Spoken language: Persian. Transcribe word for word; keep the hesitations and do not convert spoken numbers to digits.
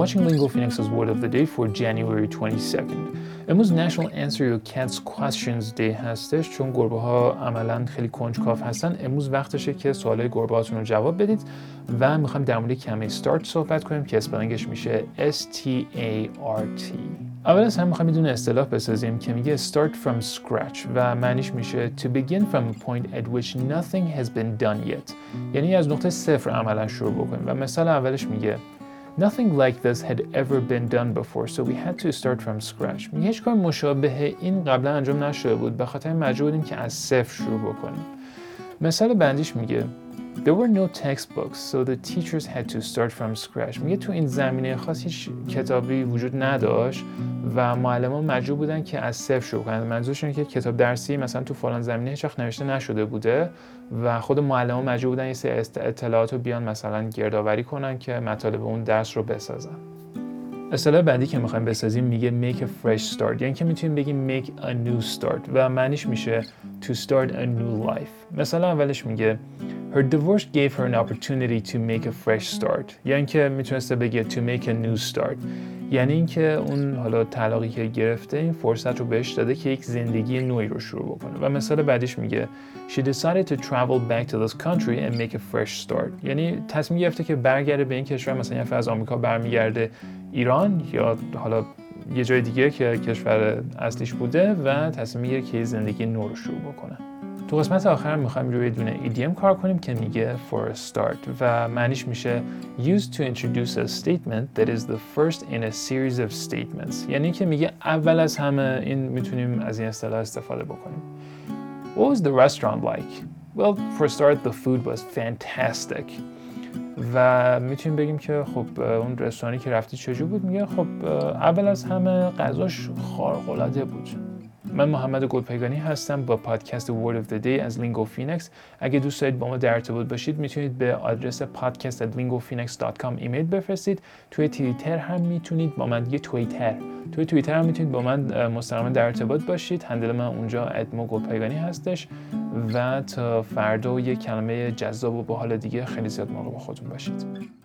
watching Lingo Phoenix's Word of the Day for January twenty-second. امروز National Answer Your Cat's Questions Day هستش، چون گربه ها عملاً خیلی کنجکاو هستن. امروز وقتشه که سوالای گربه هاتون رو جواب بدید و میخوایم در مورد کلمه start صحبت کنیم که اسپلینگش میشه S T A R T. اول از هم میخوایم بدون اصطلاح بسازیم که میگه start from scratch و معنیش میشه to begin from a point at which nothing has been done yet. یعنی از نقطه صفر عملاً شروع بکنیم. و مثال اولش میگه Nothing like this had ever been done before, so we had to start from scratch. میگه هیچ کار مشابه این قبلا انجام نشده بود، به خاطر مجبور بودیم که از صفر شروع بکنیم. مثال بعدیش میگه There were no textbooks, so the teachers had to start from scratch. میگه تو این زمینه خاص هیچ کتابی وجود نداشت و معلمان مجبور بودن که از صفر شروع کنن. منظورشون اینه که کتاب درسی مثلا تو فلان زمینه هیچ وقت نوشته نشده بوده و خود معلمان مجبور بودن یه سری اطلاعات رو بیان مثلا گردآوری کنن که مطالب اون درس رو بسازن. اصطلاح بعدی که میخوایم بسازیم میگه make a fresh start، یعنی که میتونیم بگیم make a new start و معنیش میشه to start a new life. مثلا اولش میگه Her divorce gave her an opportunity to make a fresh start. یعنی که میتونسته بگه to make a new start. یعنی اینکه اون حالا طلاقی که گرفته این فرصت رو بهش داده که یک زندگی نوعی رو شروع بکنه. و مثال بعدیش میگه She decided to travel back to this country and make a fresh start. یعنی تصمیم گرفته که برگرده به این کشور، مثلا یه از آمریکا برمیگرده ایران یا حالا یه جای دیگه که کشور اصلیش بوده و تصمیم میگیره که یه زندگی نو رو شروع بکنه. تو قسمت آخر میخوایم روی دونه ایدیم کار کنیم که میگه for a start و معنیش میشه used to introduce a statement that is the first in a series of statements. یعنی که میگه اول از همه این میتونیم از این اصطلاح استفاده بکنیم. What was the restaurant like? Well, for a start, the food was fantastic. و میتونیم بگیم که خب اون رستورانی که رفتی چجور بود؟ میگه خب اول از همه غذاش خارق‌العاده بود. من محمد گلپایگانی هستم با پادکست Word of the Day از لینگو فینکس. اگه دوست دارید با ما در ارتباط باشید میتونید به آدرس podcast at lingophoenix dot com ایمیل بفرستید. توی توییتر هم میتونید با من یه توییتر توی توییتر هم میتونید با من مستقیما در ارتباط باشید. هندل من اونجا ادمو گلپایگانی هستش و تا فردا یه کلمه جذاب و باحال دیگه خیلی زیاد مراقب خودتون باشید.